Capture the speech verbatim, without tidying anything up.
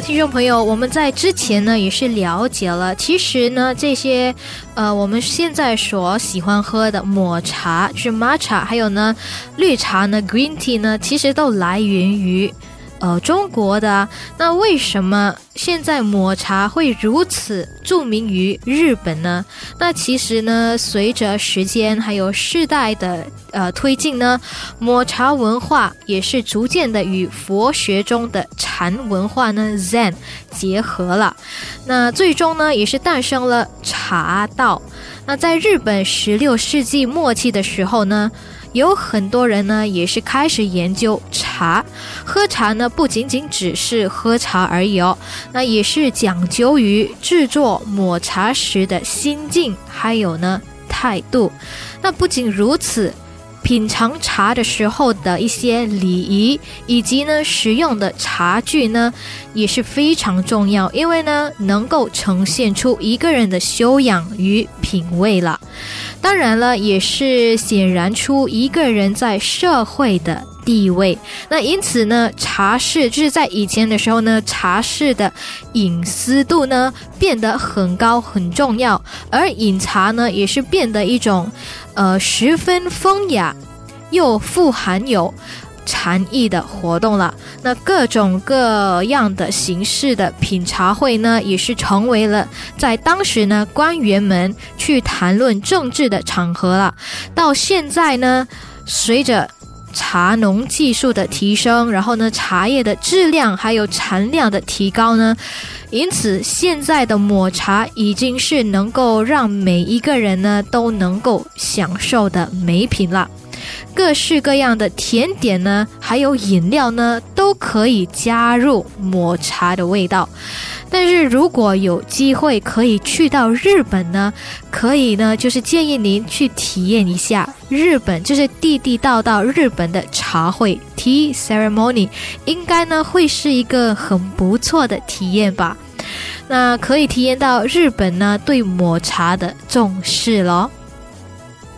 听众朋友，我们在之前呢也是了解了，其实呢这些呃我们现在所喜欢喝的抹茶就是 matcha， 还有呢绿茶呢 green tea 呢，其实都来源于呃，中国的啊。那为什么现在抹茶会如此著名于日本呢？那其实呢，随着时间还有世代的呃推进呢，抹茶文化也是逐渐的与佛学中的禅文化呢 Zen 结合了。那最终呢，也是诞生了茶道。那在日本十六世纪末期的时候呢，有很多人呢也是开始研究茶，喝茶呢不仅仅只是喝茶而已哦，那也是讲究于制作抹茶时的心境，还有呢态度。那不仅如此，品尝茶的时候的一些礼仪以及呢使用的茶具呢也是非常重要，因为呢能够呈现出一个人的修养与品味了。当然了，也是显然出一个人在社会的地位。那因此呢，茶室就是在以前的时候呢，茶室的隐私度呢变得很高很重要，而饮茶呢也是变得一种呃十分风雅又富含有禅意的活动了。那各种各样的形式的品茶会呢，也是成为了在当时呢官员们去谈论政治的场合了。到现在呢，随着茶农技术的提升，然后呢茶叶的质量还有产量的提高呢，因此现在的抹茶已经是能够让每一个人呢都能够享受的美品了。各式各样的甜点呢，还有饮料呢，都可以加入抹茶的味道。但是如果有机会可以去到日本呢，可以呢就是建议您去体验一下日本，就是地地道道日本的茶会 Tea Ceremony， 应该呢会是一个很不错的体验吧。那可以体验到日本呢对抹茶的重视咯。